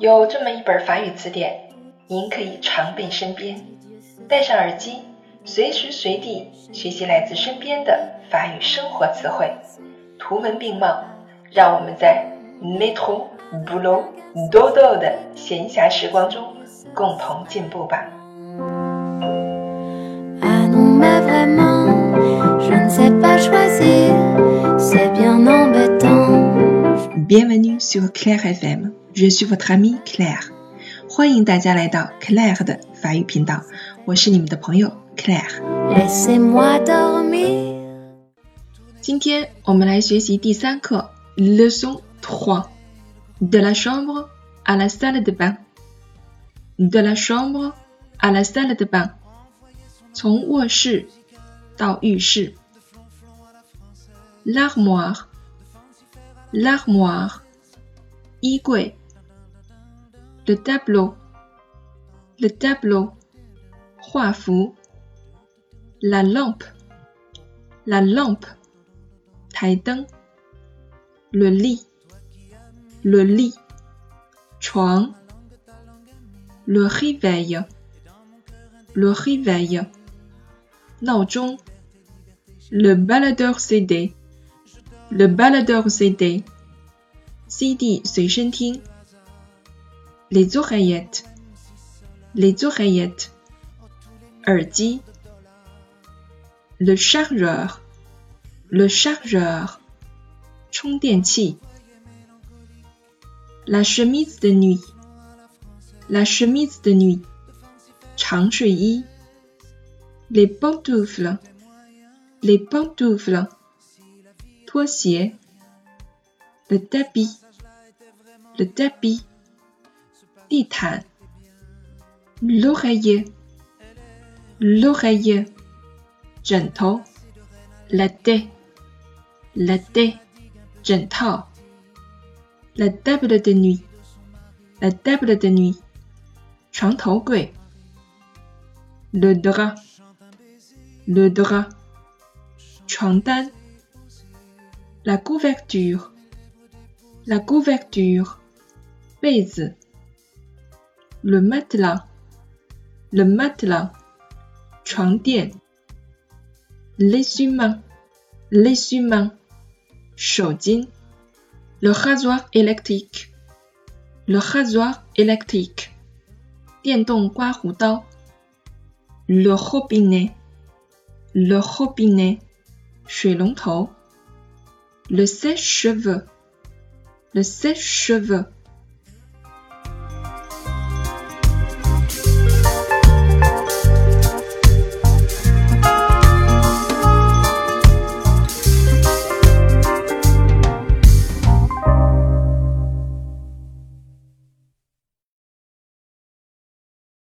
有这么一本法语词典，您可以常备身边，戴上耳机，随时随地学习来自身边的法语生活词汇，图文并茂，让我们在 métro、boulot、dodo 的闲暇时光中共同进步吧。Bienvenue sur Claire FM, je suis votre amie Claire. 欢迎大家来到 Claire 的法语频道，我是你们的朋友 Claire。今天我们来学习第3课 Leçon 3 De la chambre à la salle de bain. De la chambre à la salle de bain. 从卧室到浴室。L'armoire, l'armoire, 衣柜。Le tableau, le tableau, 画幅。La lampe, la lampe, 台灯。Le lit, le lit, 床。Le réveil, le réveil, 闹钟。Le baladeur CD, le baladeur CD, CD 随身听。Les oreillettes, les oreillettes, 耳机。Le chargeur, le chargeur, 充电器。La chemise de nuit, la chemise de nuit, 长睡衣。Les pantoufles, les pantoufles, 拖鞋。Le tapis, le tapis, 地毯。L'oreiller, l'oreiller, 枕头。La tête, la tête, 枕套。La table de nuit, la table de nuit, 床头柜。Le drap, le drap, 床单。La couverture, la couverture, 被子。Le matelas, le matelas, 床垫。L'essuie-main, l'essuie-main, 手巾。Le rasoir électrique, le rasoir électrique, 电动刮胡刀。Le robinet, le robinet, 水龙头。Le sèche-cheveux, le sèche-cheveux,